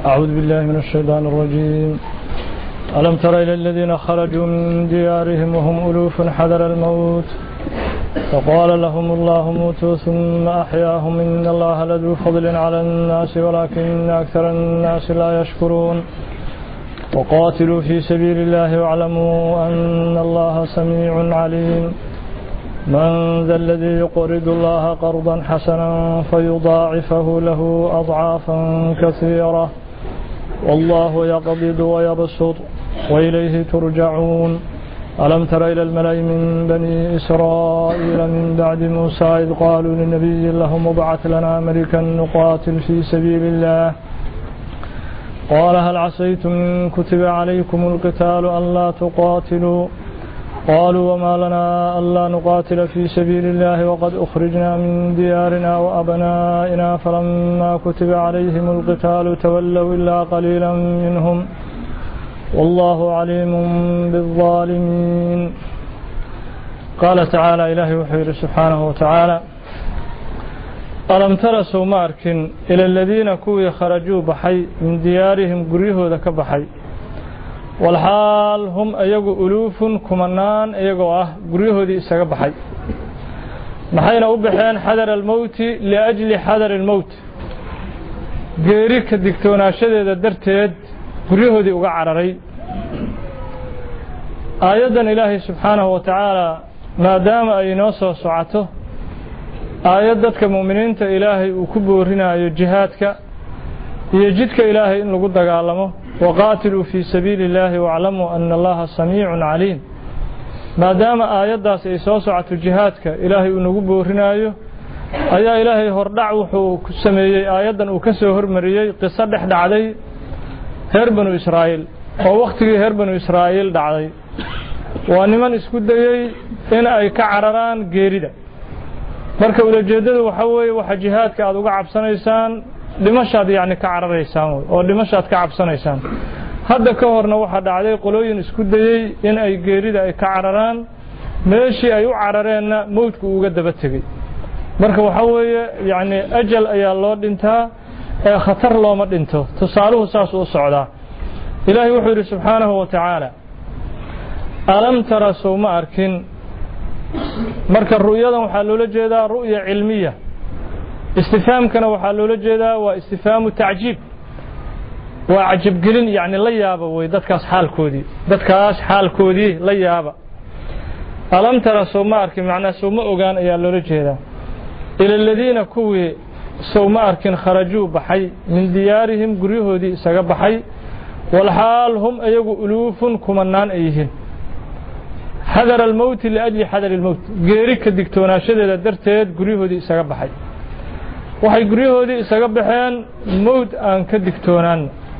أعوذ بالله من الشيطان الرجيم. ألم تر إلى الذين خرجوا من ديارهم وهم ألوف حذر الموت فقال لهم الله موتوا ثم أحياهم إن الله لذو فضل على الناس ولكن أكثر الناس لا يشكرون. وقاتلوا في سبيل الله واعلموا أن الله سميع عليم. من ذا الذي يقرض الله قرضا حسنا فيضاعفه له أضعافا كثيرة والله يقبض ويبسط وإليه ترجعون. ألم تر إلى الملأ من بني إسرائيل من بعد موسى إذ قالوا للنبي لهم ابعث لنا ملكا نقاتل في سبيل الله قال هل عسيتم إن كتب عليكم القتال ألا تقاتلوا قالوا وما لنا ألا نقاتل في سبيل الله وقد أخرجنا من ديارنا وأبنائنا فلما كتب عليهم القتال تولوا إلا قليلا منهم والله عليم بالظالمين. قال تعالى إلهي وحير سبحانه وتعالى ألم ترسوا ماركن إلى الذين كوي خرجوا بحي من ديارهم قريه ذاك بحي والحال هم أيقوا ألوف كمنان أيقوا قريه ذي إساق بحي محينا أبحين حذر الموت لأجل حذر الموت قيريك الدكتونا شديد الدرتيد قريه ذي أقعرري. آيادا إلهي سبحانه وتعالى ما دام أي نوصى سعته آيادتك مؤمنين إلهي وكبورنا جهادك يجدك إلهي إن لقد قالمه وقاتلوا في سبيل الله واعلموا أن الله سميع عليم. ما دام آيادة سيسوسعة جهادك إلهي إن كبورنا أيا إلهي هردع وحو كسمي آيادا وكسو هرمريي قصة دحد علي هربنو إسرائيل ووقت هربنو إسرائيل دعي وأنمن اسكدي إن أي كعرران غيرida marka wadajeedadu waxa weeye waxa jihaadka aad uga cabsanaysaan dhimashaad yaani ka cararaysaan oo dhimashaad ka cabsanaysaan. hadda ka horna waxa dhacday qolooyin isku dayay in ay geerida ay ka cararaan meeshii ay u carareenna mowdku uga daba tagay. marka waxa weeye yaani ajal ayaa loo dhintaa ee khatar looma dhinto. tusaaluhu saas u socdaa. ilaahay wuxuu yiri subhanahu wa ta'ala alam tara sawma arkin marka ru'yadan waxa loola jeedaa ru'ya cilmiya istifhaamkana waxa loola jeedaa waa istifhaamu ta'jiib waa ajab gelin yaani la yaaba way dadkaas xaalkoodii la yaaba. alam tara sawma arkin macna sawma ogaan ayaa loola jeedaa ila alladina kuwi sawma arkin kharaju baxay min diyaarihim guryahoodii isaga baxay wal haal hum ayagu ulufun kumanaan ayhiin حذر الموت لأجل حذر الموت غيرك دكتونا شديدة درتيد قريهودي إساق بحي وحي قريهودي إساق بحيان موت آن كدكتونان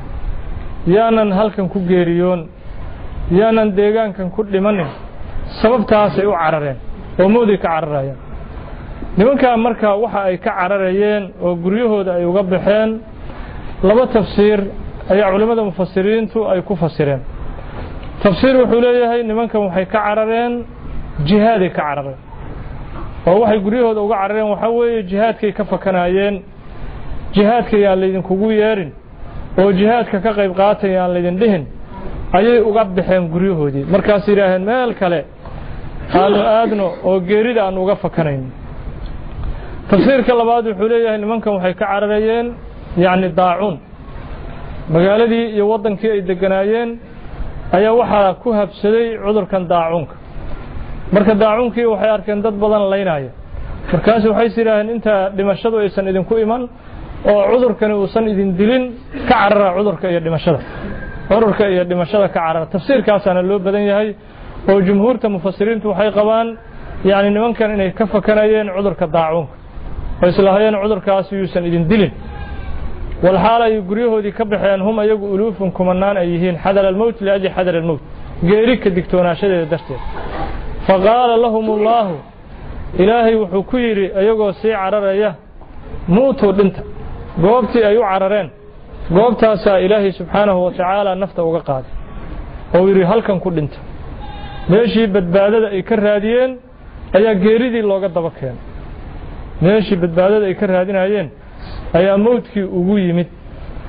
يانان هلكن كو غيريون يانان ديغان كان كل منه سبب تاسي عررين ومودي كعررين نمانكا مركا وحا أي كعررين وقريهود أي وقبحين لما تفسير أي علماء مفسرين تو أي كفسرين. تفسير وحوليه نمانكم waxay ka carareen jihaad ka carareen oo waxay guriyahooda uga carareen waxa weeye jihaadkay ka fakanayeen jihaadka yaa leedin kugu yeerin oo jihaadka ka qayb qaatayaan leedin dhihin ayay uga bixeen guriyahoodii markaas yiraahdeen meel kale aadno oo geerida aan uga fakanayn. tafsiirka labaad wuxuu leeyahay nimankan waxay ka cararayeen yaani daacun magaaladii iyo wadankii ay deganaayeen ayaa waxa ku habsaday cudurkan daacunka. marka daacunkii waxay arkeen dad badan leynaya markaas waxay siraahan inta dhimashadu aysan idin ku iman oo cudurkani uusan idin dilin ka carara cudurka iyo dhimashada ka carara. tafsiirkaasana loo badan yahay oo jumhuurta mufassiriintu waxay qabaan yaani nimankan inay ka fakanayeen cudurka daacunka oo islaahayeen cudurkaas uusan idin dilin والحال يقريهودي كبحيان هم أيقوا ألوف كمنان أيهين حذر الموت لأجل حذر الموت غيرك دكتونا شديد درته. فقال لهم الله إلهي وحكيري أيقوا سي عررية موتوا دنت قوبتي أيو عررين قوبتها سا إلهي سبحانه وتعالى نفته وقاد ويري هلكن كل دنت ماشي بدبادة يكر هاديين أيا غيريدي لوغا دبكين ماشي بدبادة يكر هادين هايين ayaa mowdkii ugu yimid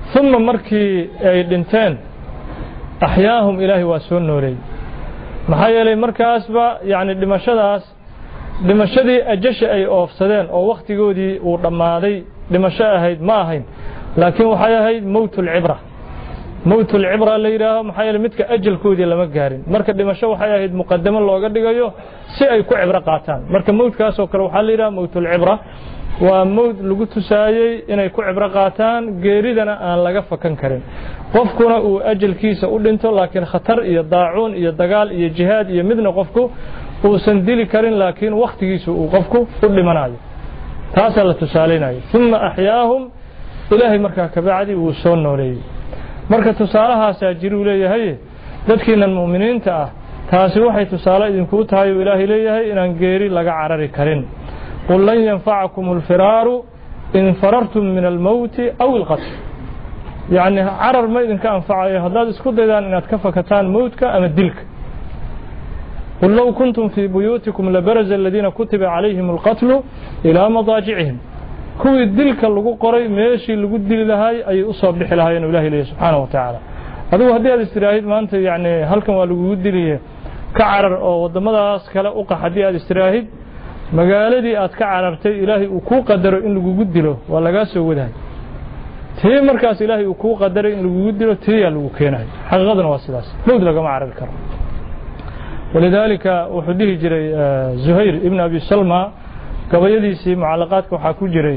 ثم markii ay dhinteen أحياهم إلهي waa soo nooleeyay maxaa yeelay markaasba yani dhimashadii ajasha ay oofsadeen oo waqtigoodii uu dhammaaday dhimasho ahayd ma ahayn laakiin waxay ahayd mawtul cibra la yidhaaho maxaa yeelay midka ajalkoodii lama gaarin marka dhimasho waxay ahayd muqadamo looga dhigayo si ay ku cibro qaataan marka mawdkaasoo kale waxaa la yidhaha mawtul cibra waa mawd lagu tusaayey inay ku cibro qaataan geeridana aan laga fakan karin qofkuna uu ajalkiisa u dhinto laakiin khatar iyo daacuun iyo dagaal iyo jihaad iyo midna qofku uusan dili karin laakiin waqtigiisa uu qofku u dhimanayo taasaa la tusaalaynayo uma axyaahum ilaahay markaa kabacdi wuu soo nooleeyey marka tusaalahaasaa jiruu leeyahay dadkiinan mu'miniinta ah taasi waxay tusaale idinkuu tahay uu ilaahay leeyahay inaan geeri laga carari karin qul lan yanfacakum alfiraaru in farartum min almowti aw alqatl yacni carar ma idinka anfacayo haddaad isku daydaan inaad ka fakataan mowdka ama dilka قل لو كنتم في بيوتكم لبرز الذين كتب عليهم القتل إلى مضاجعهم كوي الدلك اللي قري ماشي اللي قد دل لهاي أي أصاب بحلها ين الله إليه سبحانه وتعالى هذا هو هذه الاستراحات ما أنت يعني هل كم اللي قد دل كعرر أو ضمدا كلا أوقع هذه الاستراحات مقالدي أتكعررتي إلهي وكو قدر إن اللي قد دله ولا قاس وده تي مركز إلهي وكو قدر إن اللي قد دله تي اللي وكينه حقيقة واسلاس مود لقى معرر الكرم ولذلك وحديه جري زهير ابن أبي سلمى قبيديسي معلقاتك وحاكو جري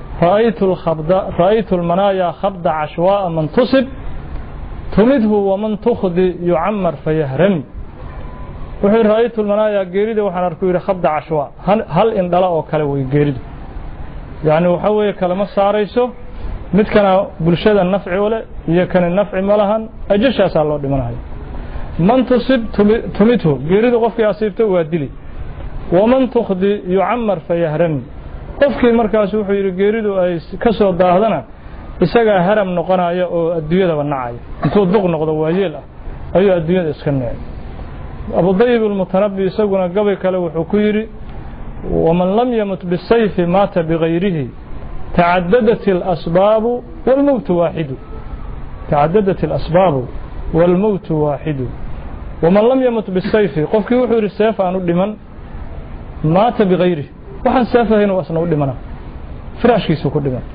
رأيت المنايا خبد عشواء من تصب تمده ومن تخذ يعمر فيهرم وحين رأيت المنايا قيريد وحن أركو خبد عشواء هل إن دلاء وكالوي قيريد يعني وحوي كلمة ساريسو متكنا بلشاد النفع ولا يكن النفع ملها أجيش أسأل الله دمناها من تصب تمته قيريد قفك أصيبته وادلي ومن تخذ يعمر فيهرم قفك مركز وحير قيريد كسو داهدنا isaga haram noqonayo oo adduunyada wanaacay intuu duq noqdo waayeel ah ayuu adduunyada iska neecay Abu Dayyib al-Mutanabbi isaguna gabay kale wuxuu ku yiri waman lam yamut bisayf mata bighayrihi ta'addadat al-asbab wal maut wahid ta'addadat al-asbab wal maut wahid waman lam yamut bisayf qofkii wuxuu yiri sayf aanu dhiman mata bighayrihi waxaan sayfahayn wasna u dhimana firaashkiisu ku dhiman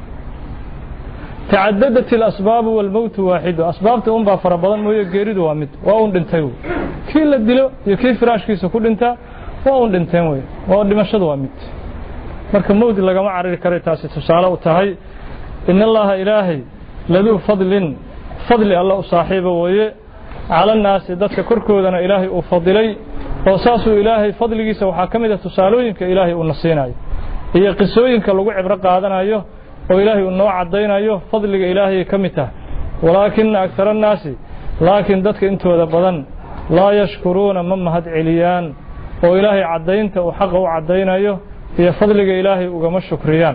تعددت الأسباب والموت واحد أسباب تنبا فربضان موية قيريد وامد وأون دنتيو كي لدلو يكي فراش كيسو كل انتا وأون دنتين موية وأون دمشد وامد مركب موت اللي قمع عرير كريتاسي تسالة وتهي إن الله إلهي لذو فضل الله صاحبه ويه على الناس داتك كركودنا إلهي وفضلي وصاصو إلهي فضل جيسا وحاكمة تسالوين كإلهي ونصيناي هي قصوين كاللقوع برقا هذا أيوه وإلهي النوع عدين أيوه فضل إلهي كمته ولكن أكثر الناس لكن دتك أنتوا ذبضن لا يشكرون مما هد عليان وإلهي عدينت وحقه عدين أيوه هي فضل إلهي وقم الشكريان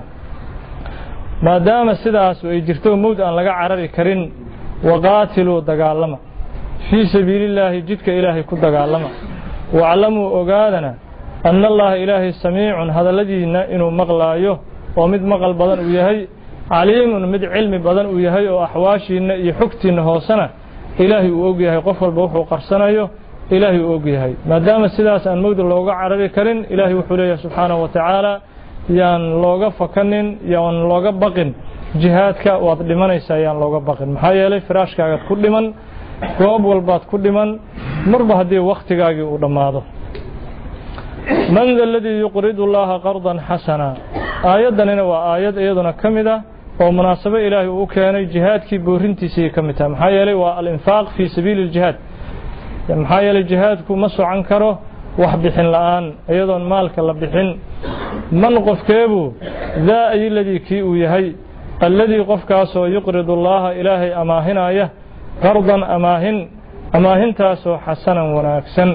ما دام السداس ويجرتوا موت أن لقى عرري كرين وقاتلوا دقالما في سبيل الله جدك إلهي كد دقالما وعلموا أقادنا أن الله إلهي سميع هذا الذي إنه مغلايه ومد مقل بدن ويهي عليم ومد علم بدن ويهي وأحواشينا يحكتين هوسنا إلهي وأوجيهي قفل بوحو قرصنايو إلهي وأوجيهي ما دام السداس أن مود اللوغة عربي كرين إلهي وحوليه سبحانه وتعالى يان لوغة فكنين يان لوغة بقن جهادك وضمانيسا يان لوغة بقن محايا لي فراشك كل من قوب والبات كل من مربه دي وقتك ودماده من ذا الذي يقرض الله قرضا حسنا آيادنا وآياد أيضا كمدة ومناسبة إلهي وكان جهاد كي بورنتيسي كمدة محايلي والإنفاق في سبيل الجهاد محايلي الجهاد كو مسو عنكره وحبحن الآن أيضا مالك اللبحن من قف كيبو ذا أي الذي كيئو يهي الذي قف كاسو يقرض الله إلهي أماهنا يه قرضا أماهن تاسو حسنا وناكسا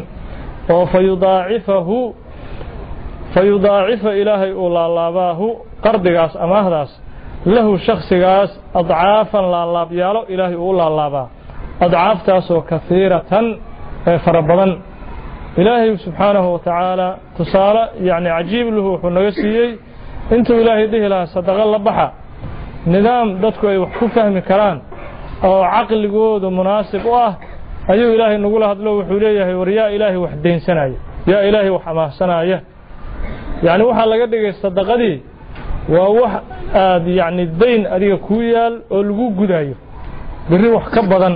فيضاعف إلهي أولالاباه قردقاس أماهداس له شخصقاس أضعافا لالابيالو إلهي أولالاباه أضعاف تاسو كثيرة فربضا إلهي سبحانه وتعالى تصالى يعني عجيب له حنوسيي انتو إلهي ديه لها صدق الله بحا نظام دادكو يوحكو فهم كران oo caqligoodu munaasib u ah ayuu ilaahay nagu la hadlo wuxuu leeyahay war yaa ilaahay wax deynsanaya yaa ilaahay wax amaahsanaya yani waxa laga dhigay sadaqadii waa wax aad yani deyn adiga ku yaal oo lagu gudayo bari wax ka badan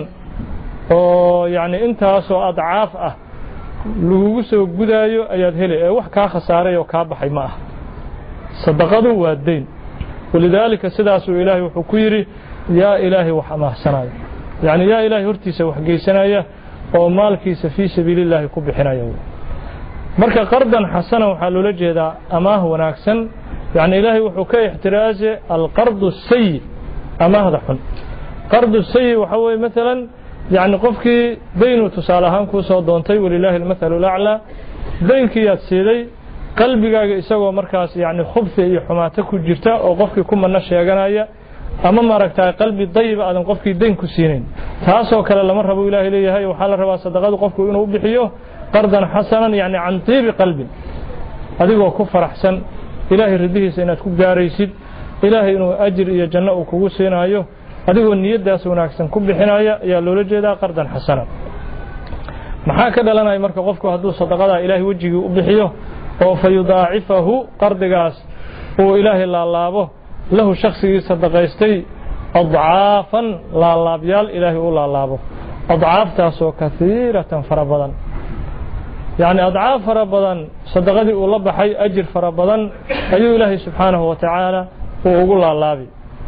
oo yani intaas oo adcaaf ah lagu soo gudayo ayaad heli ee wax ka khasaaray oo ka baxay ma ah sadaqadu waa deyn walidaalika sidaas uu ilaahay wuxuu ku yiri yaa ilaahay wax amaahsanaya yani yaa ilaahay hortiisa wax geysanaya oo maalkiisa fi sabiililaahi ku bixinaya marka qardan xasana waxa loo jeedaa amaah wanaagsan yani ilaahay wuxuu ka ixtiraazay alqardu sayyi amaahda xun qardu sayyi waxa weeye mesela يعني qofkii deynu tusaalahaan ku soo doontay walilaahi almathalu alaa deynkii aad siiday qalbigaaga isagoo markaas yani khubsi iyo xumaata ku jirta oo qofkii ku manna sheeganaya ama maaragtay qalbi dayib aadan qofkii deyn ku siinin taasoo kale lama rabo ilaahay leeyahay waxa la rabaa sadaqadu qofku inuu bixiyo qardan hasanan yani an tibi qalbi adigoo ku faraxsan ilaahay ridihiisa inaad ku gaaraysid ilaahay inuu ajir iyo janno uu kugu siinayo adigoo niyadaas wanaagsan ku bixinaya ayaa loola jeedaa qardan xasana maxaa ka dhalanaya marka qofku hadduu sadaqada ilaahay wajigii u bixiyo oo fayudaacifahu qardigaas oo ilaahay laalaabo lahu shakhsigii sadaqaystay adcaafan laalaabyal ilaahay u laalaabo adcaaftaasoo kasiiratan fara badan yani adcaaf fara badan sadaqadii uu la baxay ajir fara badan ayuu ilaahay subxaanahu wa tacaala uu ugu laalaabi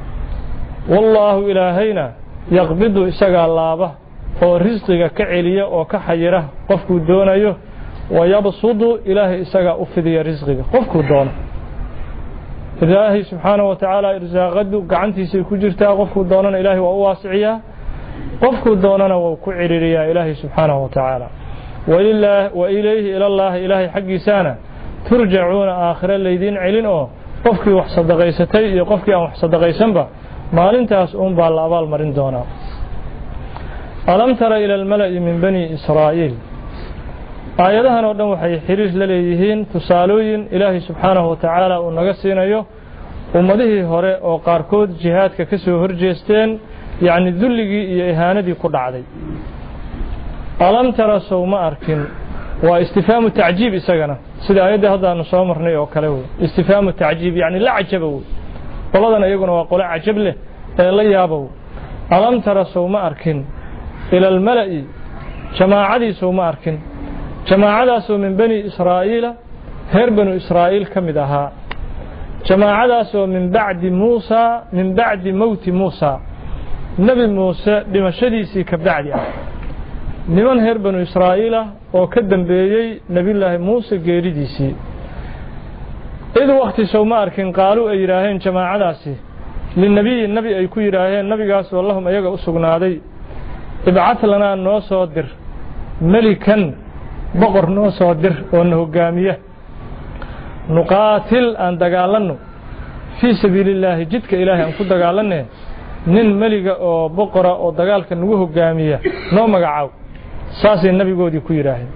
والله إلهينا يقبض إساق اللابة ورزقك كعليا وكحيرة قفك دونه ويبصد إلهي إساق أفذي رزقك قفك دونه إلهي سبحانه وتعالى إرزاقه قعنتي سيكو جرتا قفك دونه إلهي وأواسعيا قفك دونه وكعريا إلهي سبحانه وتعالى وإليه إلى الله إلهي حق سانا ترجعون آخر الليدين علنوا قفك وحصد غيستي قفك وحصد غيسنبا maalintaas baa la abaal marin doonaa alam tara ila almala'i min bani israa'iil aayadahan oo dhan waxay xiriir la leeyihiin tusaalooyin ilaahay subxaanahu wa tacaala uu naga siinayo ummadihii hore oo qaarkood jihaadka ka soo horjeesteen yani dulligii iyo ihaanadii ku dhacday alam tara sawma arkin waa istifhaamu tacjiib isagana sida aayadda hadda aanu soo marnay oo kale istifhaamu tacjiib yani la cajaba qoladan iyaguna waa qolo cajab leh ee la yaabo alam tara sawma arkin ila almala'i jamaacadii sawma arkin jamaacadaas oo min bani israa'iila heer banu israa'iil kamid ahaa jamaacadaas oo min bacdi mawti muusa nabi muuse dhimashadiisii ka bacdi ah niman heer banu israa'iila oo ka dambeeyay nabiyullaahi muuse geeridiisii إذ وقت سوما أركن قالوا أي راهين جماعة داسي للنبي النبي أي كوي راهين نبي قاس واللهم أيقا أسقنا دي ابعث لنا نوصادر ملكا بقر نوصادر وأنه قامية نقاتل أن دقالنه في سبيل الله جدك إلهي أن كنت دقالنه نين ملك أو بقرة أو دقالك نوه قامية نوم قعاو ساسي النبي قودي كوي راهين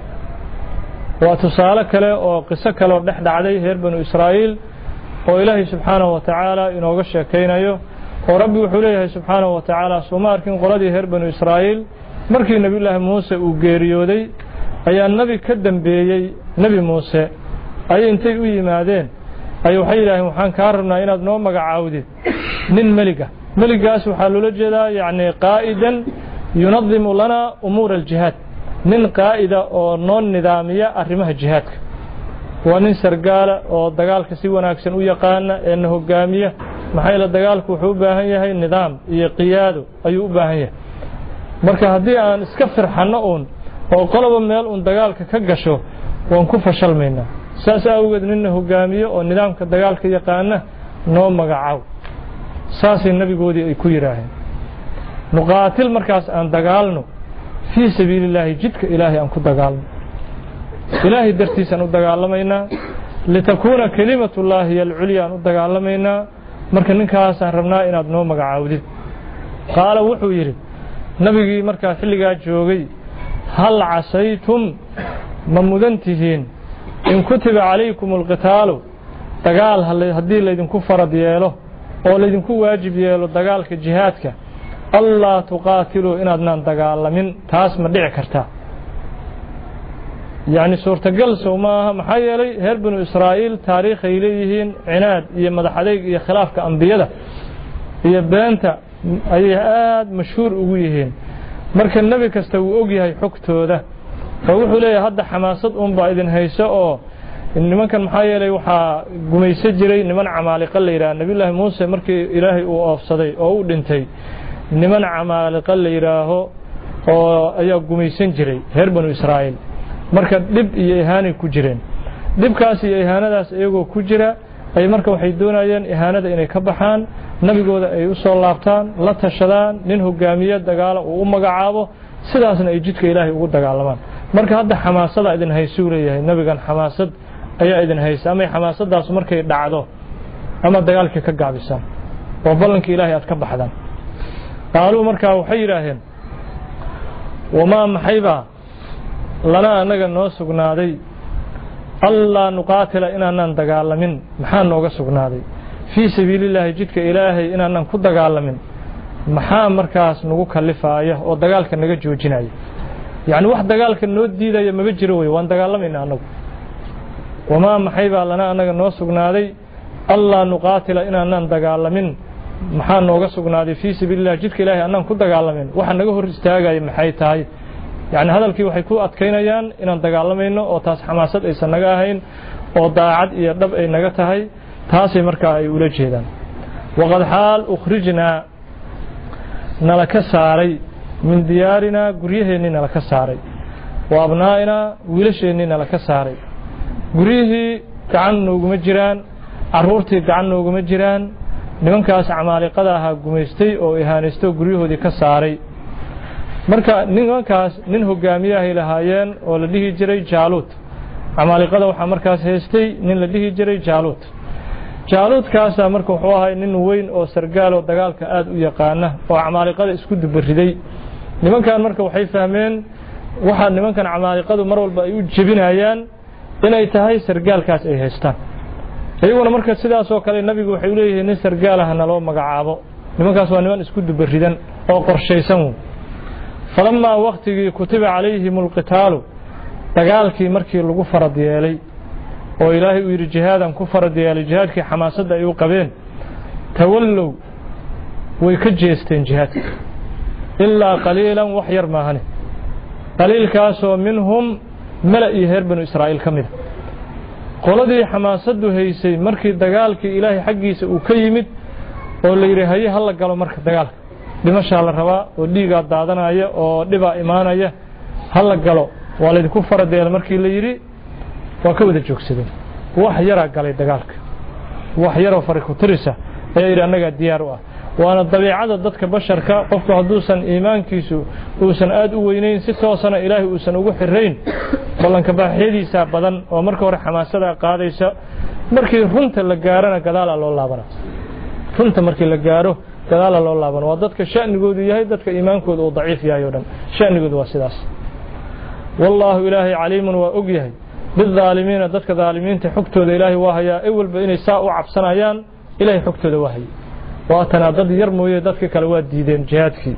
وتصالة كله وقصة كله نحن عليه هير بنو إسرائيل وإلهي سبحانه وتعالى إنه قش كينايو وربي وحوليه سبحانه وتعالى سوما أركن قلدي هير بنو إسرائيل مركي نبي الله موسى وغيريودي أي النبي كدم بيي نبي موسى أي انتي وي مادين أي وحي الله وحان كارمنا إنا نوم مقعاودي نين ملكة سبحانه لجدا يعني قائدا ينظم لنا أمور الجهاد nin qaa'ida oo noon nidaamiya arrimaha jihaadka waa nin sargaala oo dagaalka si wanaagsan u yaqaana ee hogaamiya maxay la dagaalku wuxuu u baahan yahay nidaam iyo qiyaado ayuu u baahan yahay marka haddii aan iska firxano oo qoloba meel dagaalka ka gasho waan ku fashalmaynaa saas awgeed nin hogaamiyo oo nidaamka dagaalka yaqaana noo magacaw saasay nabigoodii ay ku yiraahdeen nuqaatil markaas aan dagaalno في سبيل الله جدك إلهي أنكو دقالنا إلهي درتيسا ندقالمينا لتكون كلمة الله هي العليا ندقالمينا مركا ننكاسا ربنا إن أدنو مقعاودي قال وحو يري نبي مركا حلقا جوغي هل عسيتم ممدنتهين إن كتب عليكم القتال دقال هدي ليدن كفر ديالو أو ليدن كو واجب ديالو دقالك جهادك allaa tuqaatiluu inaadnaan dagaalamin taas ma dhici kartaa yacni suurtagal sow maaha maxaa yeelay reer banu israa'iil taariikhay leeyihiin cinaad iyo madax adayg iyo khilaafka ambiyada iyo beenta ayay aad mashhuur ugu yihiin marka nebi kasta wuu og yahay xogtooda oo wuxuu leeyahay hadda xamaasad unbaa idin hayso oo nimankan maxaa yeelay waxaa gumayso jiray niman camaaliqa la yidhaha nebiyullaahi muuse markii ilaahay uu oofsaday oo uu dhintay niman camaaliqa la yidhaaho oo ayaa gumaysan jiray reer banu israa'iil marka dhib iyo ihaanay ku jireen dhibkaas iyo ihaanadaas iyagoo ku jira ay marka waxay doonayeen ihaanada inay ka baxaan nabigooda ay u soo laabtaan la tashadaan nin hogaamiye dagaala uu u magacaabo sidaasna ay jidka ilaahay ugu dagaalamaan marka hadda xamaasada idin haysuu leeyahay nabigan xamaasad ayaa idin haysa ama xamaasadaas markay dhacdo ama dagaalkii ka gaabisaan oo ballankii ilaahay aad ka baxdaan qaaluu markaa waxay yidhaaheen wamaa maxaybaa lana annaga noo sugnaaday allaa nuqaatila inaanaan dagaalamin maxaa nooga sugnaaday fii sabiilillaahi jidka ilaahay inaanaan ku dagaalamin maxaa markaas nagu kalifaaya oo dagaalka naga joojinaya yacni wax dagaalka noo diidaya maba jiro wey waan dagaalamayna annagu wamaa maxaybaa lana annaga noo sugnaaday allaa nuqaatila inaanaan dagaalamin maxaa nooga sugnaaday fii sabiilillahi jidka ilaahay annaan ku dagaalamin waxa naga hor istaagaya maxay tahay يعني هذا الكي waxay ku adkeynayaan inaan dagaalamayno oo taas xamaasad aysan naga ahayn oo daacad iyo dhab ay naga tahay taasay markaa ay ula jeedaan waqad xaal ukhrijna nalaka saaray min diyaarina guryaheennii nalaka saaray wa abnaa'ina wiilasheennii nalaka saaray guryihii gacan nooguma jiraan carruurtii gacan nooguma jiraan nimankaas camaaliqada ahaa gumaystay oo ihaanaysto guryahoodii ka saaray marka nimankaas nin hogaamiyahay lahaayeen oo la dhihi jiray jaaluut camaaliqada waxaa markaas haystay nin la dhihi jiray jaaluutkaasa marka wuxuu ahay nin weyn oo sargaal oo dagaalka aad u yaqaana oo camaaliqada isku dubariday nimankan marka waxay fahmeen waxa nimankan camaaliqadu mar walba ay u jebinayaan inay tahay sargaalkaas ay haystaan iyaguna marka sidaas oo kale nabigu waxay u leeyihiin nin sargaalaha naloo magacaabo nimankaas waa niman isku dubaridan oo qorshaysan فلما وقتي كتب عليهم القتال دغالكي markii lagu farad yeelay oo ilaahay u yiri jihaadan ku farad yeelay jihaadkii xamaasada ay u qabeen tawallow way ka jeesteen jihaadka illa qaliilan wax yar maahane qaliilkaas oo minhum mala'i reer banu israa'iil kamid qoladii xamaasadu haysay markii dagaalkii ilaahay xaqiisa uu ka yimid oo la yiri hay hal galo marka dagaalka dhimasha la rabaa oo dhiiga daadanaya oo dhiba imaanaya hal galo waa la ku faradeel markii la yiri waa ka wada joogsadeen wax yara galay dagaalka wax yar oo fariiq tirisa ay anaga diyaar u ah waana dabiicada dadka basharka qofku haduusan iimaankiisu uusan aad u weynayn si toosana ilaahay uusan ugu xirayn ballanka baaxiyadiisa badan oo marka hore xamaasada qaadaysa markii runta la gaarana gadaal loo laabana runta markii la gaaro gadaal loo laaban waa dadka shaanigoodu yahay dadka iimaankoodu uu daciif yahay oo dhan shaanigoodu waa sidaas wallahu ilaahi caliimun wa og yahay bidaalimiina dadka daalimiinta xogtooda ilaahi waa hayaa ay walba inay saa u cabsanayaan ilaahi xogtooda waa hayay waa tanaadad yar mooyee dadka kale waa diideen jihaadkii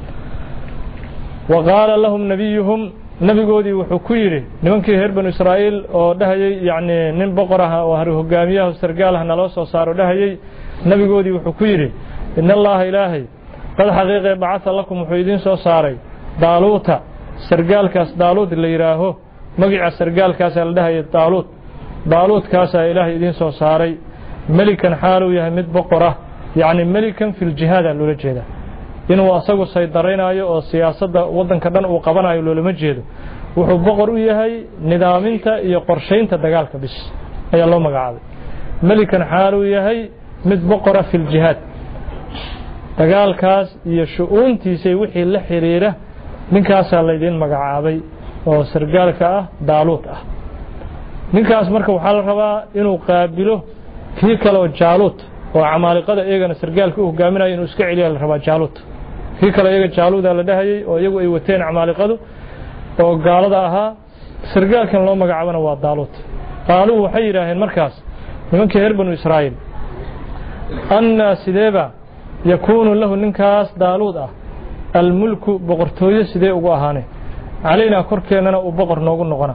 وقال لهم نبيهم nabigoodii wuxuu ku yiri nimankii reer banu Israa'iil oo dhahayay yaani nin boqoraha oo hogaamiyaha sargaalaha naloo soo saaro dhahayay nabigoodii wuxuu ku yiri إن الله إلهي قد حقيقة بعث لكم وحيدين سو ساري دالوتا سرقال كاس دالوت اللي يراهو مقع سرقال كاس لدهي دالوت كاس إلهي إذين سو ساري ملكا حالو يهمد بقرة يعني ملكا في الجهاد اللي جيدا إنه أصغو سيدارين آيو أو سياسة وضن كدن وقبان آيو اللي مجيدو وحو بقر يهي نظامينتا يقرشين تدقالك بس أي الله مقعاد ملكا حالو يهي مد بقرة في الجهاد dagaalkaas iyo shu'uuntiisa wixii la xiriira ninkaas la idin magacaabay oo sargaalka ah daaluut ah ninkaas marka waxa la rabaa inuu qaabilo kii kale oo jaaluut oo camaaliqada iyagana sargaalka u hogaaminayo inuu iska celiyo la rabaa jaaluut kii kale iyaga jaaluuda la dhahayay oo iyagu ay wateen camaaliqadu oo gaalada ahaa sargaalkan loo magacaabana waa daaluut qaaluu waxay yiraahdeen markaas nimankii reer banu Israa'iil anna sideeba يكون له ننكاس دالود الملك بقرتوية سيدي ugu ahaane علينا korkeenana uu boqor noogu noqona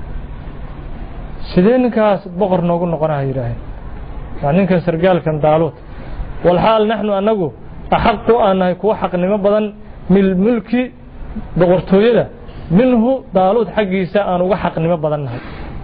sidee ninkaas boqor noogu noqona yiraahdeen ninkan sargaalkan daalud والحال نحن أنغو أحق أنه كو حقنimo badan mil mulki boqortooyada minhu daalud xaqiisa aan uga xaqnimo badannahay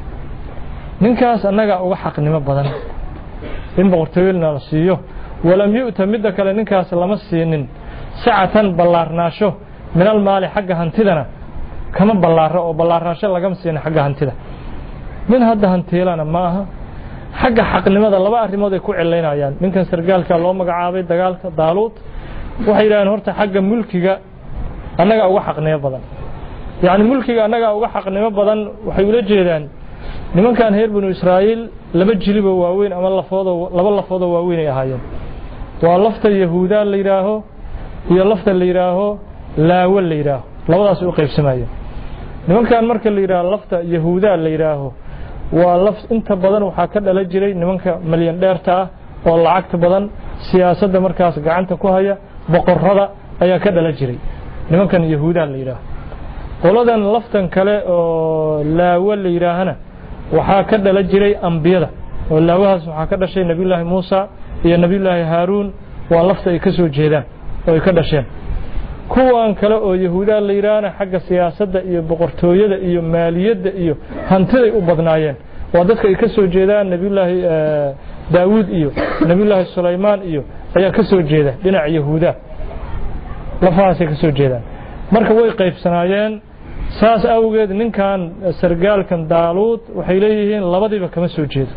ninkaas anaga uga xaqnimo badan in boqortooyada la siiyo walam yu'ta midda kale ninkaas lama siinin sacatan ballaarnaasho min almaali xagga hantidana kama ballaaro oo ballaarnaasho laga siin xagga hantida min hadda hantiilana maaha xagga xaqnimada laba arrimood ay ku cileynayaan ninkan sargaalka loo magacaabay dagaalka daalud waxay yiraahdeen horta xagga mulkiga anaga uga xaqnimo badan yaani mulkiga anaga uga xaqnimo badan waxay ula jeedaan nimankan reer banu Israa'iil laba jiliba waaweyn ama laba lafoodo waaweyn ay ahaayeen waa lafta yahuuda la yiraaho iyo lafta la yiraaho laawa la yiraaho labadaas u qaybsamayeen nimankan marka la yiraaho lafta yahuuda la yiraaho waa laf inta badan waxa ka dhala jiray nimanka milyan dheerta oo lacagta badan siyaasadda markaas gacanta ku haya boqorrada ayaa ka dhala jiray nimankan yahuuda la yiraaho qoladan laftan kale oo laawa la yiraahana waxa ka dhala jiray ambiyada oo laawahaas waxa ka dhashay nabiyullaahi Muusa iyo nabiyullaahi Haaruun waa lafta ay ka soo jeedaan oo ay ka dhasheen kuwan kale oo yahuuda la yiraahna xagga siyaasadda iyo boqortooyada iyo maaliyadda iyo hantida ay u badnaayeen waa dadka ay ka soo jeedaan nabiyullaahi Daawud iyo nabiyullaahi Sulaymaan iyo ayaa ka soo jeeda dhinaca yahuuda lafahaas ay ka soo jeedaan marka way qaybsanaayeen saas awgeed ninkan sargaalkan daalud waxay leeyihiin labadiiba kama soo jeedo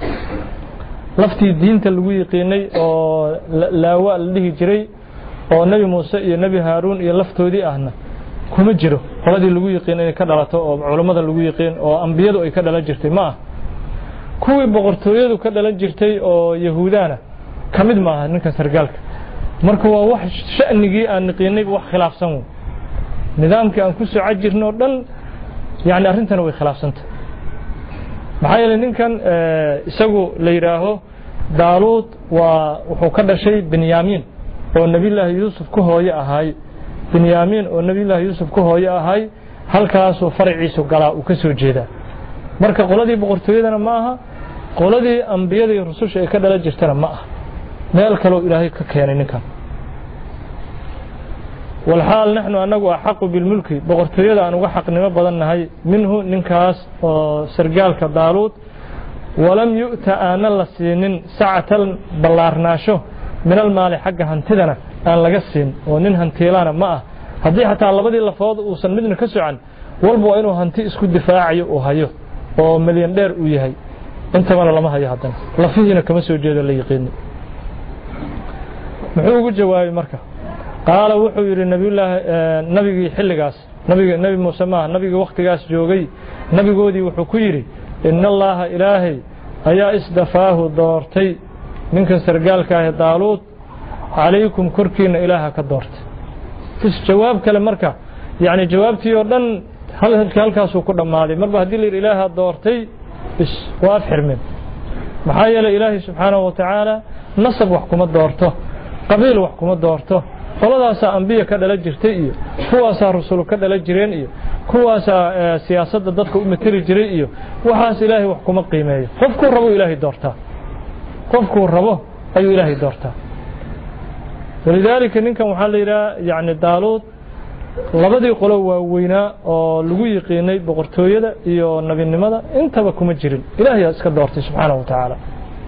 laftii diinta lagu yiqiinay oo laawa la dhihi jiray oo nabi Muuse iyo nabi Haaruun iyo laftoodii ahna kuma jiro qoladii lagu yiqiinay ka dhalato oo culimada lagu yiqiin oo ambiyadu ay ka dhalan jirtay ma kuwii boqortooyadu ka dhalan jirtay oo yahuudana kamid ma aha ninkan sargaalka marka waa wax sha'nigii aan niqiinay wax khilaafsan nidaamkii aan ku soo cajirno dhan yaani arrintan way khilaafsanta maxay yeelay ninkan isagu la yiraaho daalud waa wuxuu ka dhashay Benyamin oo nabiyullaahi Yuusuf ku hooyo ahay Benyamin oo nabiyullaahi Yuusuf ku hooyo ahay halkaas oo farciisu galaa uu ka soo jeeda marka qoladii boqortooyadana ma aha qoladii ambiyada iyo rasuusha ay ka dhalan jirtana ma aha meel kale oo Ilaahay ka keenay ninkan والحال نحن أنغو أحق بالملك بقرتويدا أنغو حقنimo badannahay minhu ninkaas oo sargaalka daalud walam yu'ta ana la siinin sa'atan ballaarnaasho min almaali xagga hantidana aan laga siin oo nin hantiilana ma ah hadii xataa labadii lafood uu san midna ka socan walba inuu hanti isku difaacayo oo hayo oo milyan dheer uu yahay inta wala lama hayo hadan lafihiina kama soo jeedo la yiqiin muxuu ugu jawaabay marka قال وحو يري نبي حلقاس نبي موسى ما نبي وقتقاس جوغي نبي قودي وحو كيري إن الله إلهي أيا إسدفاه دورتي منك سرقالك يا دالوت عليكم كركين إلها كدورت فيش جواب كلام مركا يعني جوابتي يردن هل هالكاس وكل ماضي مربع هدي لي إلها دورتي بس واف حرمين محايا إلهي سبحانه وتعالى نصب وحكومة دورته قبيل وحكومة دورته qoladaas anbiya ka dhala jirtay iyo kuwaas rasuul ka dhala jireen iyo kuwaas siyaasadda dadka u matari jiray iyo waxaas Ilaahay wax kuma qiimeeyo qofku rabo Ilaahay doortaa qofku rabo ayuu Ilaahay doortaa walidaalika ninkan waxa la yiraahdaa yaani daalud labadii qolo waa weynaa oo lagu yiqiinay boqortooyada iyo nabinimada intaba kuma jirin Ilaahay iska doortay subhanahu wa ta'ala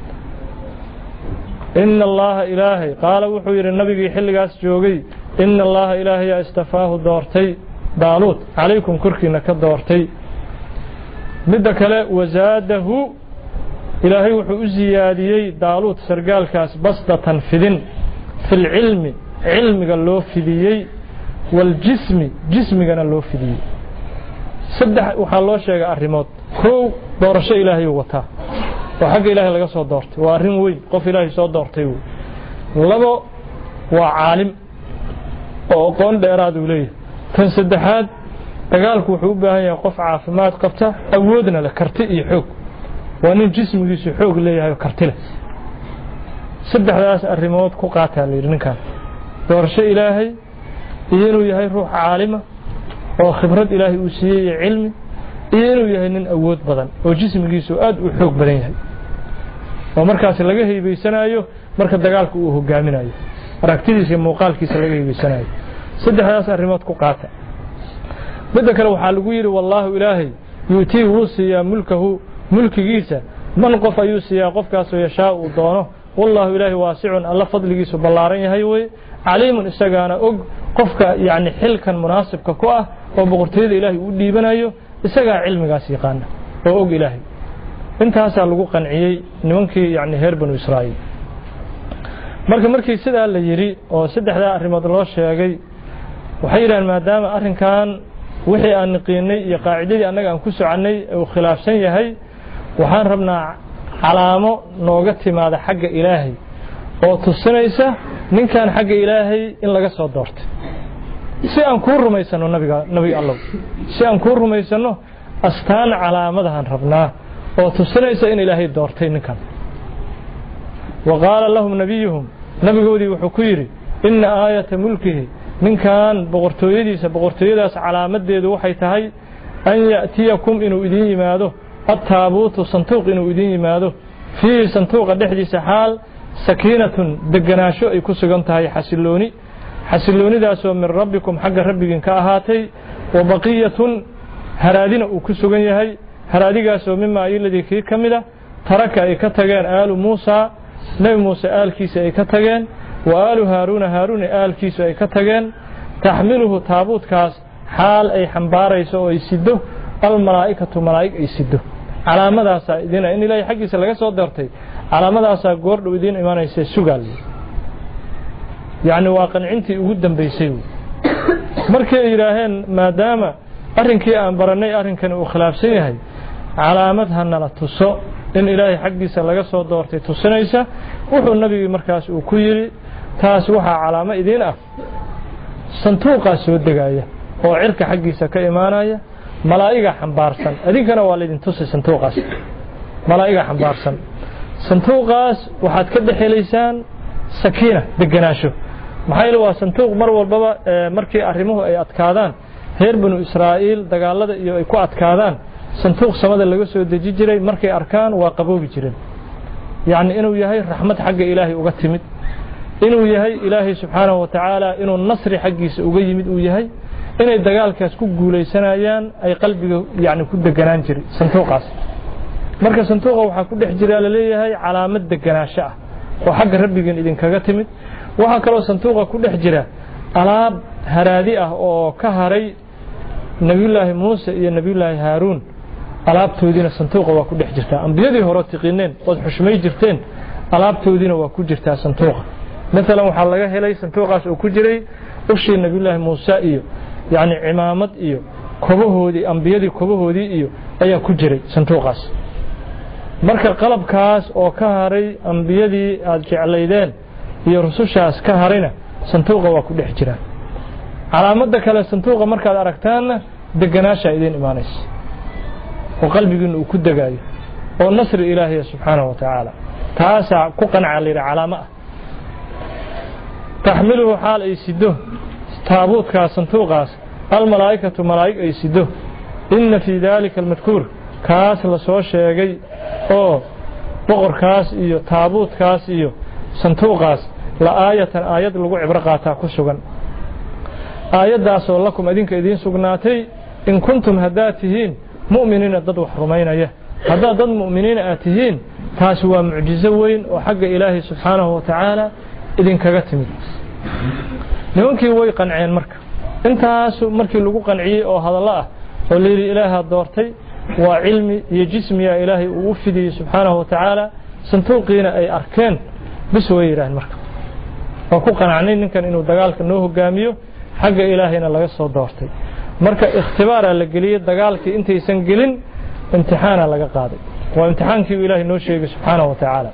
إن الله إلهي قال وحير النبي حلقاس جوغي إن الله إلهي استفاه دورتي دالوت عليكم كركينا كدورتي مدك لا وزاده إلهي وحو زياديي دالوت سرقال كاس بسطة فدن في العلم علم قال له فديي والجسم جسم قال له فديي صدح وحالله شيء الرموت كو دورش إلهي وطا وحق إلهي لغا سو دورتي waa arin weyn qof Ilaahay soo doortay labo waa caalim oo qoon dheeraad u leeyahay tan saddexaad dagaalku wuxuu u baahan yahay qof caafimaad qabta awoodna la karti iyo xoog waa nin jismigiisu xoog leeyahay karti leh saddexdaas arrimood ku qaataa la yidhi ninkan doorasho ilaahay iyo inuu yahay ruux caalima oo khibrad ilaahay uu siiyey cilmi iyo inuu yahay nin awood badan oo jismigiisu aad u xoog badan yahay oo markaas laga heebaysanayo marka dagaalku uu hogaaminayo aragtidiisa iyo muuqaalkiisa laga heebaysanayo saddexdaas arrimood ku qaata midda kale waxaa lagu yidhi wallaahu ilaahay yuutii wuu siiyaa mulkahu mulkigiisa man qof ayuu siiyaa qofkaasoo yashaa uu doono wallaahu ilaahay waasicun alla fadligiisu ballaaran yahay wey caliimun isagaana og qofka yani xilkan munaasibka ku ah oo boqortooyada ilaahay uu dhiibanayo isagaa cilmigaas yaqaana oo og ilaahay intaasaa lagu qanciyey nimankii yani reer banu israa'iil markii sidaa la yidhi oo saddexdaa arrimood loo sheegay waxay yidhahdeen maadaama arrinkan wixii aan niqiinay iyo qaacidadii annaga aan ku soconnay uu khilaafsan yahay waxaan rabnaa calaamo nooga timaada xagga ilaahay oo tusinaysa ninkan xagga ilaahay in laga soo doortay si aan kuu rumaysano nabi allow si aan kuu rumaysano astaan calaamadahan rabnaa oo tusinaysa in ilaahay doortay ninkan wa qaala lahum nabiyuhum nabigoodii wuxuu ku yidhi inna aayata mulkihi ninkan boqortooyadaas calaamadeedu waxay tahay an ya'tiyakum inuu idin yimaado attaabuutu santuuq inuu idin yimaado fiihi santuuqa dhexdiisa xaal sakiinatun deganaasho ay ku sugan tahay xasiloonidaasoo min rabbikum xagga rabbigiin ka ahaatay wa baqiyatun haraadina uu ku sugan yahay haraadigaasoo mimaa iladii kii ka mida taraka ay ka tageen aalu muusaa nebi muuse aalkiisa ay ka tageen wa aalu haaruuna haaruun aalkiisu ay ka tageen taxmiluhu taabuutkaas xaal ay xambaarayso oo ay sido almalaa'ikatu malaa'ig ay sido calaamadaasaa idina in ilaahay xaggiisa laga soo doortay calaamadaasaa goordhow idiin imaanaysa sugaal yacni waa qancintii ugu dambaysay markay ay yidhaaheen maadaama arrinkii aan barannay arrinkan uu khilaafsan yahay calaamad hanala tuso in ilaahay xaggiisa laga soo doortay tusinaysa wuxuu nabigii markaas uu ku yidhi taas waxaa calaamo idiin ah santuuqaa soo degaya oo cirka xaggiisa ka imaanaya malaa'iga xambaarsan idinkana waa laydin tusay santuuqaas malaa'iga xambaarsan santuuqaas waxaad ka dhexelaysaan sakiina deganaasho maxaa yeele waa santuuq mar walbaba markii arrimuhu ay adkaadaan reer banu israa'iil dagaalada iyo ay ku adkaadaan santuuq samada laga soo deji jiray markay arkaan waa qaboobi jireen yacni inuu yahay raxmad xagga ilaahay uga timid inuu yahay ilaahay subxaanahu wa tacaala inuu nasri xaggiisa uga yimid uu yahay inay dagaalkaas ku guulaysanayaan ay qalbiga yani ku deganaan jiray santuuqaas marka santuuqa waxaa ku dhex jira la leeyahay calaamad deganaasho ah oo xagga rabbigan idinkaga timid waxaa kaloo santuuqa ku dhex jira alaab haraadi ah oo ka haray nabiyullaahi muuse iyo nabiyullaahi haaruun alaabtoodiina santuuqa waa ku dhex jirtaa ambiyadii hore tiqiineen ood xushmay jirteen alaabtoodiina waa ku jirtaa santuuqa maalan waxaa laga helay santuuqaas oo ku jiray ushii nabiyullaahi muuse iyo yani cimaamad iyo kobahoodii ambiyadii kobahoodii iyo ayaa ku jiray santuuqaas marka qalabkaas oo ka haray ambiyadii aad jeclaydeen iyo rusushaas ka harayna santuuqa waa ku dhex jiraan calaamada kale santuuqa markaad aragtaanna deganaashaa idiin imaanaysa oo qalbigiina uu ku degaayo oo nasri ilaahiya subxaanahu wa tacaala taasaa ku qanca layidhi calaamo ah taxmiluhu xaal ay sido taabuutkaas santuuqaas almalaa'ikatu malaa'ig ay sido inna fii daalika almadkuur kaas la soo sheegay oo boqorkaas iyo taabuutkaas iyo santuuqaas la aayatan aayad lagu cibro qaataa ku sugan aayaddaasoo lakum idinka idiin sugnaatay in kuntum haddaad tihiin mu'miniina dad wax rumaynaya haddaad dad mu'miniina aad tihiin taasi waa mucjizo weyn oo xagga ilaahay subxaanahu wa tacaala idinkaga timid nimankii way qanceen marka intaas markii lagu qanciyey oo hadallo ah oo layidhi ilaaha doortay waa cilmi iyo jismiya ilaahay uu u fidiyey subxaanahu wa tacaala santuuqiina ay arkeen bis way yidhaaheen marka waa ku qanacnay ninkan inuu dagaalka noo hogaamiyo xagga ilaahayna laga soo doortay marka ikhtibaaraa la geliyey dagaalkii intaysan gelin imtixaana laga qaaday waa imtixaankii uu ilaahay noo sheegay subxaanahu wa tacaala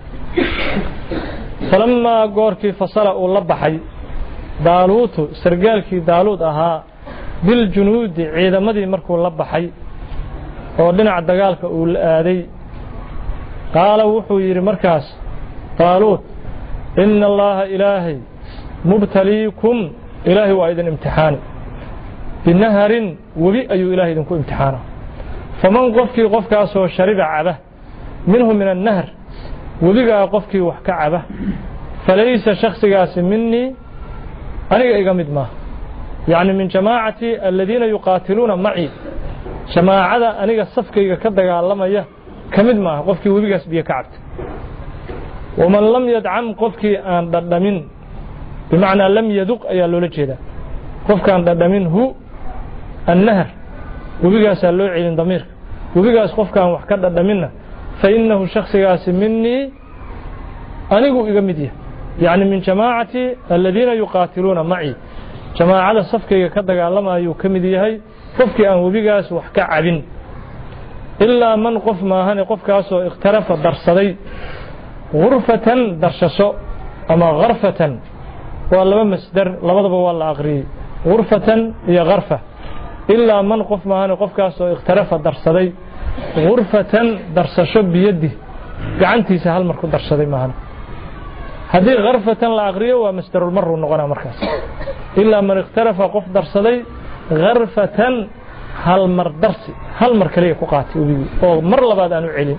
falamaa goorkii fasala uu la baxay daaluutu sargaalkii daaluud ahaa biljunuudi ciidamadii markuu la baxay oo dhinaca dagaalka uu la aaday qaala wuxuu yidhi markaas daaluud إن الله إلهي مبتليكم إلهي وأيضا امتحان بنهر وبي أي إلهي إذنكو امتحانا فمن قفك أسو شرب عبه منه من النهر وبقى قفك وحك عبه فليس شخص قاس مني أنا إقامد ما يعني من جماعتي الذين يقاتلون معي جماعة أنا الصفك كدق الله ما كمد ما قفك وبقى سبيه كعبت ومن لم يدعم قفك أن ضدمين بمعنى لم يذق أي لولجه قفك أن ضدمين هو النهر وبقى سألوه عين ضمير وبقى قفك أن وحكا ضدمنا فإنه شخص قاس مني أنا إقامديه يعني من جماعتي الذين يقاتلون معي جماعة صفك كدق الله ما يكمديه قفك أن وبقى وحكا عبين إلا من قف ما هني قفك أسو اخترف درصدي غرفة درشسو أما غرفة والله مصدر لبضب والله أغري غرفة هي غرفة إلا من قف ما هني قفك أسو اخترف درصدي غرفة درشسو بيده قعنتي سهل مركو درصدي ما هني هذه غرفة الأغري ومصدر المر ونغنى مركز إلا من اخترف قف درصدي غرفة هل مر درسي هل مر كليه كقاتي أو مر لبعد أنو علم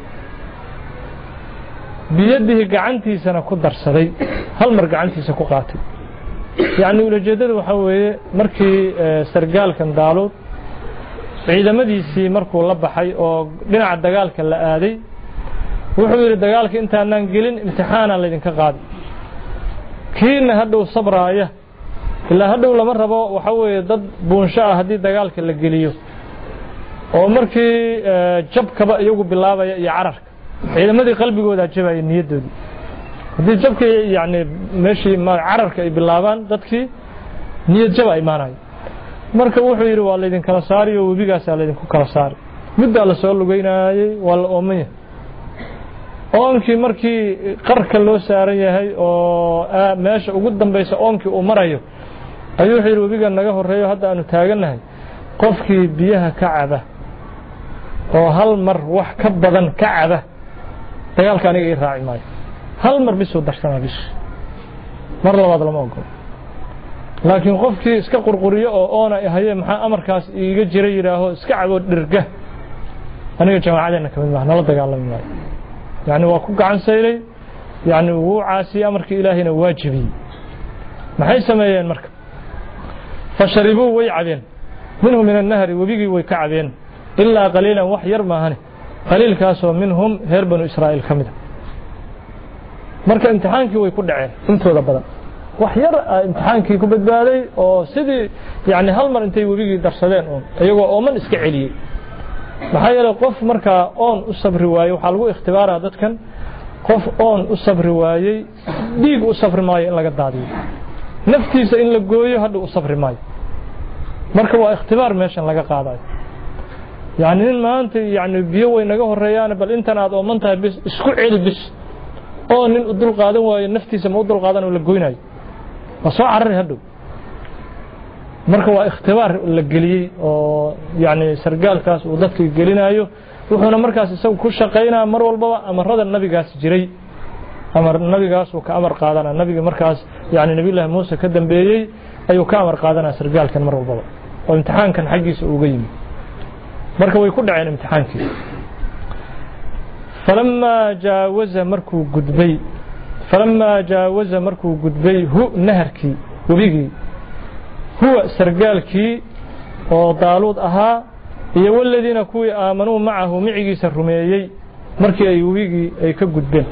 بيده قعنتي سنة كدر صدي هل مر قعنتي سكقاتي يعني ولجدد وحوي مركي سرقال كان دالود عيدا مديسي مركو لبحي أو دينع الدقال كان لآدي وحوي الدقال كان انتا ننقلين امتحانا لدين كقادي كين هدو الصبراية إلا هدو لمرة وحوي ضد بونشاء هدي الدقال كان لقليو oo markii jabkaba iyagu bilaabay iyo cararka ciidamadii qalbigooda jabay niyadoodii hadii jabka yaani meeshii ma cararka ay bilaabaan dadkii niyad jab ay maanay marka wuxuu yiri waa leedin kala saariyo webigaas la leedin ku kala saari midda la soo lugeynayay wal oomay oonkii markii qarka loo saaran yahay oo meesha ugu dambaysa oonkii uu marayo ayuu yiri webiga naga horeeyo hadda aanu taaganahay qofkii biyaha ka caba oo hal mar wax ka badan ka caba dagaalka aniga ii raaci maayo hal mar bisoo darsanaa bis mar labaad lama ogolo laakiin qofkii iska qurquriyo oo oona yahay maxaa amarkaas iiga jiray yiraaho iska cabo dhirga aniga jamaacadeena kamid ma nala dagaalami maayo yani waa ku gacan saylay yani wuu caasi amarkii ilaahina waajibi maxay sameeyeen marka fasharibu way cabeen منهم من النهر وبيجي ويكعبين إلا قليلا وحير ما هني قليل كاسو منهم هربن إسرائيل كمده مركا امتحانك ويكون عين انتو لبدا وحير امتحانك يكون بدبالي او سيدي يعني هالمر انتي وبيجي درسدين ايغو اومن اسكا عليي maxaa yeelay qof marka oon u sabri waayo waxa lagu ikhtibaaraa dadkan qof oon u sabri waayay dhiig u sabri maayo in laga daadiyo naftiisa in la gooyo hadda u sabri maayo marka waa ikhtibaar meeshan laga qaadayo yani in maanta yani biyo way naga horeeyaan bal intan aad ooman tahay bis isku ceel bis oo nin u dul qaadan waayo naftiisa ma u dul qaadan oo la goynayo waa soo carari hadhow marka waa ikhtibaar la geliyay oo yani sargaalkaas uu dadka gelinayo wuxuuna markaas isagu ku shaqeynaa mar walba amarada nabigaas jiray amar nabigaas uu ka amar qaadana nabiga markaas yani nabi ilaahay Muuse ka dambeeyay ayuu ka amar qaadana sargaalkan mar walba oo imtixaankan xaqiisa uga yimid marka way ku dhaceen imtixaankii falamma jaawaza markuu gudbay hu naharkii wabigi huwa sargaalkii oo daaluud ahaa iyo waladiina kuwii aamanuu macahu micigiisa rumeeyey markii ay wabigii ay ka gudbeen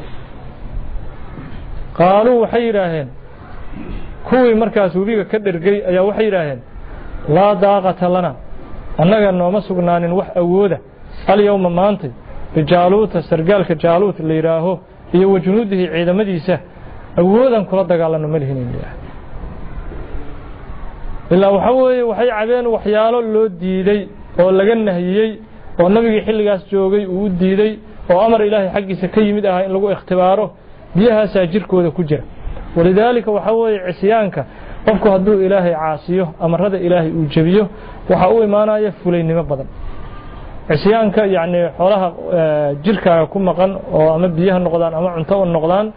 qaaluu waxay yidhaaheen kuwii markaas webiga ka dhergay ayaa waxay yidhaaheen laa daaqata lana annaga nooma sugnaanin wax awooda alyawma maantay bijaaluuta sargaalka jaaluut la yidhaaho iyo wajunuudihi ciidamadiisa awoodan kula dagaalano ma lihin ilaa waxa weeye waxay cabeen waxyaalo loo diiday oo laga nahiyey oo nabigii xilligaas joogay uu diiday oo amar ilaahay xaqiisa ka yimid ah in lagu ikhtibaaro biyahaas jirkooda ku jira walidaalika waxa weeye cisyaanka qofku hadduu ilaahay caasiyo amarada ilaahay uu jabiyo waxa uu imaanaya fulaynimo badan cisyaanka yani xoolaha jirkaaga ku maqan oo ama biyaha noqdaan ama cunto noqdaan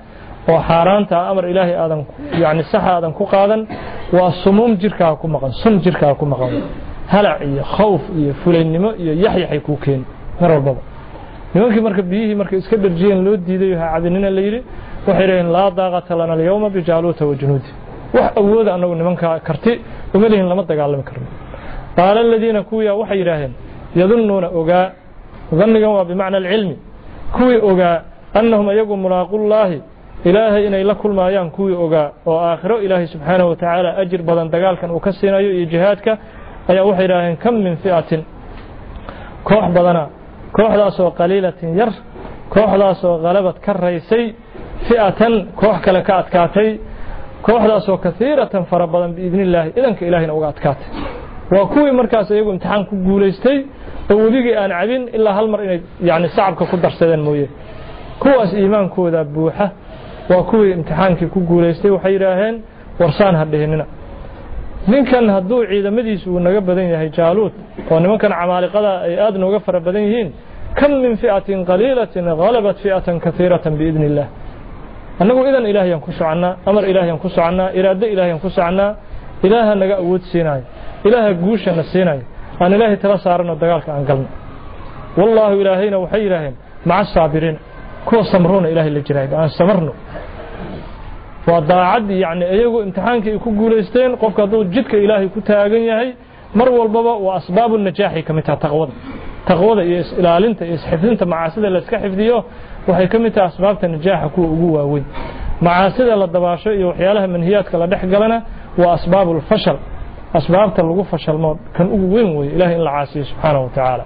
وحارانتا أمر إلهي آدم يعني صحة آدم كقادا وصموم جركا كمقان سن جركا كمقان هلع خوف فلين يحيى حيكوكين مر البابا nimankii marka biyihii marka iska dharjiyeen loo diiday waxa cadinina la yiri waxay yiraahdeen la daaqata lana al-yawma bi jaaluta wa junuudi wax awood anagu nimanka karti uma leeyin lama dagaalami karno qaala alladina kuya waxay yiraahdeen yadununa ogaa dhannigan waa bimaana al-ilmi kuwi ogaa annahum ayagu mulaaqullahi ilaahay inay la kulmaayaan kuwi ogaa oo aakhiro ilaahay subhanahu wa ta'ala ajir badan dagaalkan uu ka siinayo iyo jihaadka ayaa waxay yiraahdeen kam min fi'atin koox badana kooxdaasoo qaliilatin yar kooxdaasoo qalabad ka raysay fi'atan koox kale ka adkaatay kooxdaasoo kasiiratan fara badan biidnillaahi idanka ilaahina uga adkaatay waa kuwii markaas iyagu imtixaan ku guulaystay oo weligii aan cabin ilaa hal mar inay yani sacabka ku darsadeen mooye kuwaas iimaankooda buuxa waa kuwii imtixaankii ku guulaystay waxay yidhaaheen warsaan ha dhihinina ninkan hadduu ciidamadiisu uu naga badan yahay jaaluud oo nimankan camaaliqada ay aad nooga fara badan yihiin kam min fi'atin qaliilatin ghalabat fi'atan katiiratan biidnillah annagu idan ilaahayaan ku soconaa amar ilaahayaan ku soconaa iraado ilaahayaan ku soconaa ilaaha naga awood siinaayo ilaaha guushana siinaayo aan ilaahay tala saarano dagaalka aan galno wallaahu ilaahayna waxay yidhaaheen maca saabiriin kuwa samruuna ilaahay la jiraay aan samarno وضاعد يعني أيجو امتحانك يكون جولستين قف كذو جدك إلهي كتاعين هاي مر والبابا وأسباب النجاح كمتها تغوض إلى أنت يسحفنت مع سيدة لسكحف ديو وهي كمتها أسباب النجاح كوجوا وين مع سيدة للضباشة وحيالها من هيات كلا دحق لنا وأسباب الفشل أسباب تلقوا فشل مود كان وين وين إلهي العاسي سبحانه وتعالى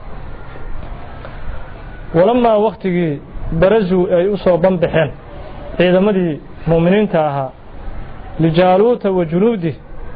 ولما وقت برزوا يوصوا بنبحين إذا مدي مؤمنين تاها لجالوت وجنوده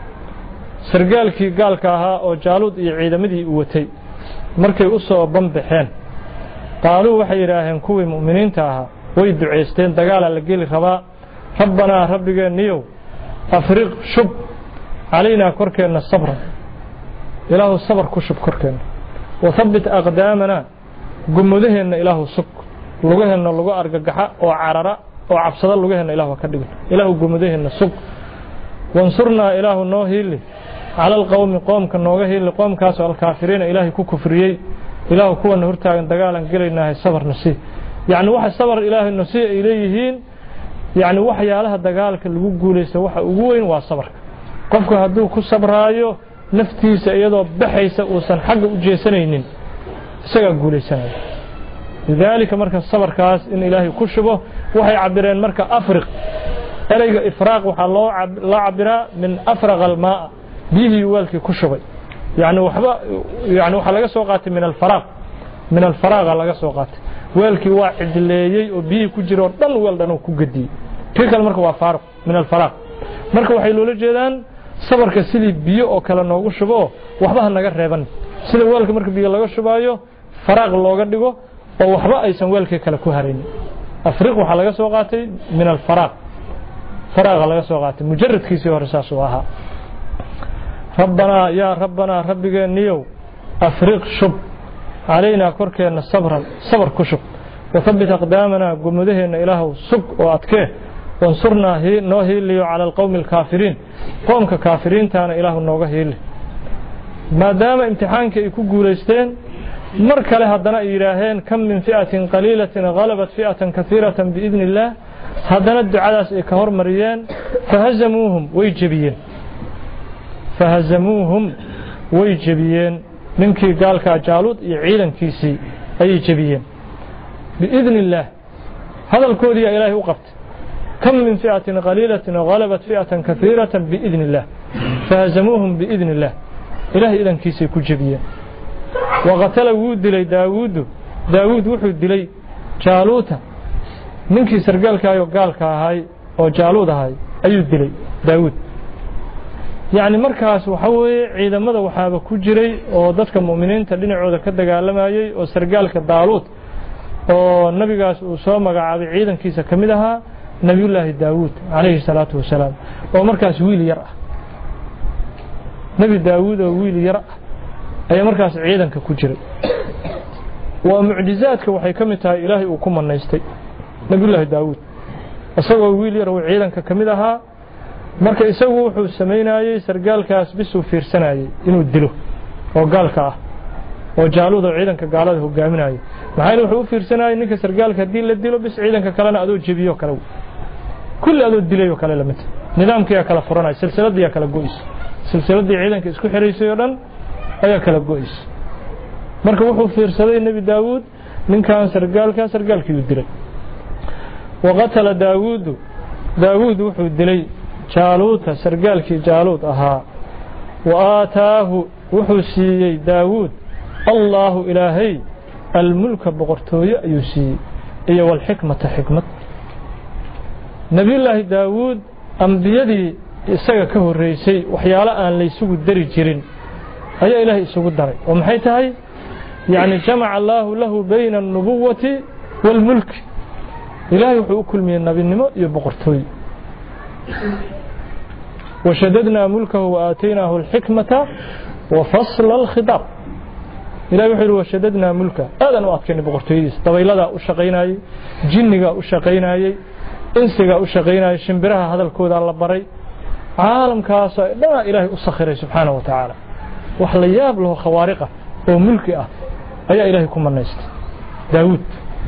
سرقالكي قال كاها أو جالوت عيدمدي وتي مركي أصوا بنبحين قالوا وحي راهن كوي مؤمنين تاها ويدعو عيستين دقالا لقيل خباء ربنا ربك نيو أفرق شب علينا كركينا الصبر إله الصبر كشب كركينا وثبت أقدامنا قمدهن إله السك لغهن لغو أرققحا وعرراء وعبصد لغهن إله وكدق إله قمدهن السك وانصرنا إله نوهيلي على القوم قوم كنوغهيلي قوم كاسو الكافرين إلهي كفريي إله كوا نهرتاغن دقالا قلينا الصبر نسيه يعني واحد صبر إله النسيء إليهين يعني waxyaalaha dagaalka lagu guuleysto waxa ugu weyn waa sabarka qofku haduu ku sabraayo naftiisa iyadoo baxaysa oo san xaq u jeesanaynin isaga guuleysanaya lidalika marka sabarkaas in ilaahay ku shubo waxay cabireen marka afriq erayga ifraaq waxa loo cabiraa min afraq almaa bihi walki ku shubay yani waxa laga soo qaatay min alfaraq laga soo qaatay weelkii waa cidleeyay oo biyo ku jiro dhan weel dhan ku gadiyay tirkal marka waa faarq min alfaraq marka waxay loola jeedaan sabarka sidii biyo oo kala noogu shubo waxba naga reeban sida weelka marka biyo laga shubaayo faraq looga dhigo oo waxba aysan weelka kala ku harin afriq waxa laga soo qaatay min alfaraq faraq laga soo qaatay mujarradkiisii hore saas oo ahaa rabbana ya rabbana rabbigeeniyow afriq shub علينا كركنا صبر كشب وثبت أقدامنا قمدهنا إله سق وأتكيه وانصرنا نوهي لي على القوم الكافرين قوم ككافرين تانا إله النوغه لي ما دام امتحانك يكون قوليستين مرك لها الدناء إلهين كم من فئة قليلة غلبت فئة كثيرة بإذن الله هدنا الدعاء كهر مريان فهزموهم ويجبيين ninkii gaalka jaaluud iyo ciidankiisii ay jabiyeen biidn illah hadalkoodii ilaahay u qabtay kam min fi'atin qalilatin ghalabat fi'atan kathiratan biidn illah fahazamuhum biidn illah ilaahay idankiisii ku jabiyeen waqatala wudilay daawud wuxuu dilay jaaluuta ninkii sargaalka ayo gaalka ahay oo jaaluud ahay ayuu dilay daawud يعني markaas waxa weeye ciidamada waxaaba ku jiray oo dadka muuminiinta dhinacooda ka dagaalamayay oo sargaalka Daaluud oo nabigaas uu soo magacaabay ciidankiisa kamid ahaa nabiyullaahi Daawud alayhi salatu wasalaam oo markaas wiil yar ah nabi Daawud oo wiil yar ah ay markaas ciidanka ku jiray waa mucjizaadka waxay kamid tahay ilaahay uu ku manaystay nabiyullaahi Daawud isagoo wiil yar oo ciidanka kamid ahaa marka isagu wuxuu sameynayay sargaalkaas bisuu fiirsanayay inuu dilo oo gaalka ah oo Jaaluud oo ciidanka gaalada hogaaminayay maxay wuxuu u fiirsanayay ninka sargaalka hadii la dilo bis ciidanka kalena adoo jabiyo kale kulli adoo dilayo kale lamid nidaamkii kala furanay silsiladii kala go'is silsiladii ciidanka isku xiriisay oo dhan ayaa kala go'is marka wuxuu fiirsaday nabi Daawud ninkan sargaalkii dilay waqtala Daawud wuxuu dilay Jaaluud sargaalkii Jaaluud ahaa waataahu wuxuu siiyay Daawud Allahu ilaahay الملك بقرتوية يسي إيه والحكمة حكمة نبي الله داود أنبيادي إساقا كهو الرئيسي وحيالا أن ليسوق الدري جيرين أي إلهي يسوق الدري ومحيتها يعني جمع الله له بين النبوة والملك إلهي وحيو كل من النبي النمو يبقرتوية وشددنا ملكه وآتيناه الحكمة وفصل الخطاب إلهي وحيد وشددنا ملكه هذا نوعدكني بقرتويس طويلة أشقيناي جنجا أشقيناي إنسجا أشقيناي شمبرها هذا الكود على بري عالم كاسا لا إلهي أسخره سبحانه وتعالى وحلياب له خوارقه وملكه أي إلهي كم النست داود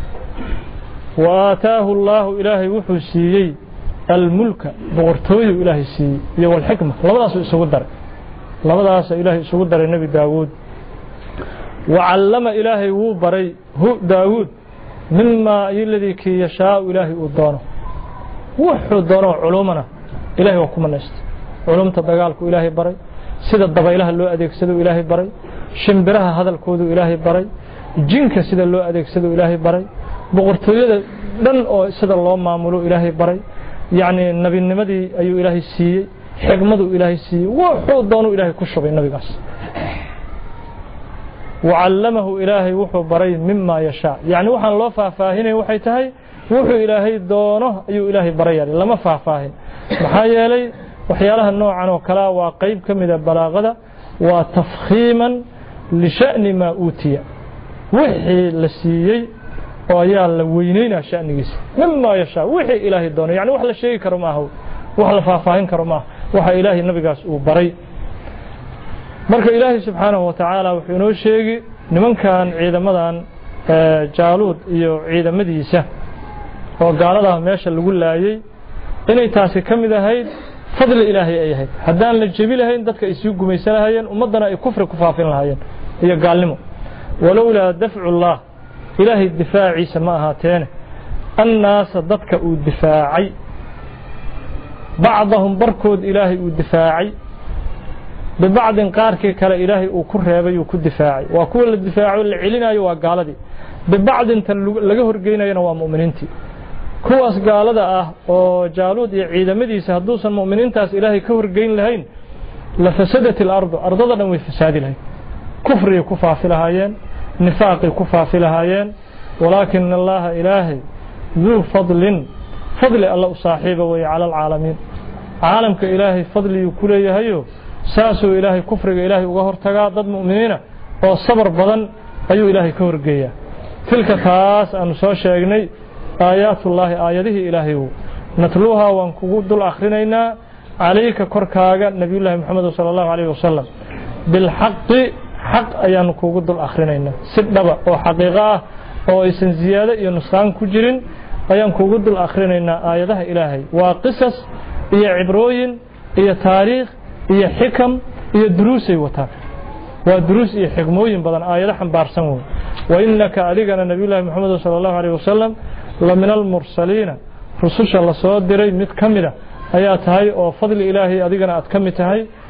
وآتاه الله إلهي وحسيي الملك بقرتوي إلهي سي والحكمة لبداس يسودر لبداس إلهي يسودر النبي داود وعلم إلهي وبري هو داود مما الذي كي يشاء إلهي ودانه وحو دانه علومنا إلهي وكم النست علوم تدقالك إلهي بري سيد الضبيلها اللو أديك سيدو إلهي بري شمبرها هذا الكود إلهي بري جنك سيد اللو أديك سيدو إلهي بري بغرطوية لن سيد الله معمولو إلهي بري يعني النبي النمدي أيو إلهي سي حكمته إلهي سي وحو دانه إلهي كشب النبي قاس وعلمه إلهي وحو بري مما يشاء يعني وحن الله فاهين وحيتهي وحو إلهي دونه أيو إلهي بري لما فاهين محايا لي وحيالها النوع عنه كلا وقيب كمدة بلاغة وتفخيما لشأن ما أوتي وحي لسيي ويال وينين شأن جيس مما يشاء وحي إلهي دونه يعني وحل الشيء كرماه وحل فاهين كرماه وحي إلهي النبي قاس وبري marka ilaahay subhanahu wa ta'ala wuxuu inoo sheegay nimankan ciidamadan Jaaluud iyo ciidamadiisa oo gaalada meesha lagu laayay inay taasi kamid ahayd fadli ilaahay ay ahayd hadaan la jabi lahayn dadka isu gumaysanayeen ummadana ay kufri ku faafin lahaayeen iyo gaalnimo walawla daf'u Allah ilaahay difaaciisa ma ahaateen annaas dadka uu difaacay bacdahum barkood ilaahay uu difaacay ببعض قاركي كلا إلهي وكرهبي وكدفاعي وكل الدفاع اللي علينا يوا قالدي ببعض انت لغا هرغيناينا waa muuminiinti kuwaas gaalada ah oo Jaaluud iyo ciidamadiisa haduusan muuminiintaas ilaahay ka horgeyn lahayn la fasadat al-ard ardada way fasaadi lahayn kufri ku faafilahaayeen nifaaqi ku faafilahaayeen walakin Allah ilaahi ذو فضل الله صاحبه وعلى العالمين عالمك إلهي فضلي كليهايو ساسو إلهي كفر إلهي وغهر تقا ضد مؤمنين والصبر بضن أيو إلهي كفر قيا تلك تاس أن سوشيغني آيات الله آياته إلهي نتلوها وانكود الآخرين عليك كركاغا نبي الله محمد صلى الله عليه وسلم بالحق حق أيان كود الآخرين سدبا وحقيقة وإسن زيادة ينصان كجرين أيان كود الآخرين آياته إلهي وقصص إيا عبروين إيا تاريخ iyo xikam iyo duruus ay wataan waa duruus iyo xigmooyin badan aayada xambaarsan wa innaka adigana nabiyullaahi maxamed sallallahu alayhi wasallam la min al mursaliina rususha la soo diray mid kamida ayaa tahay oo fadli ilaahi adigana aad kamid tahay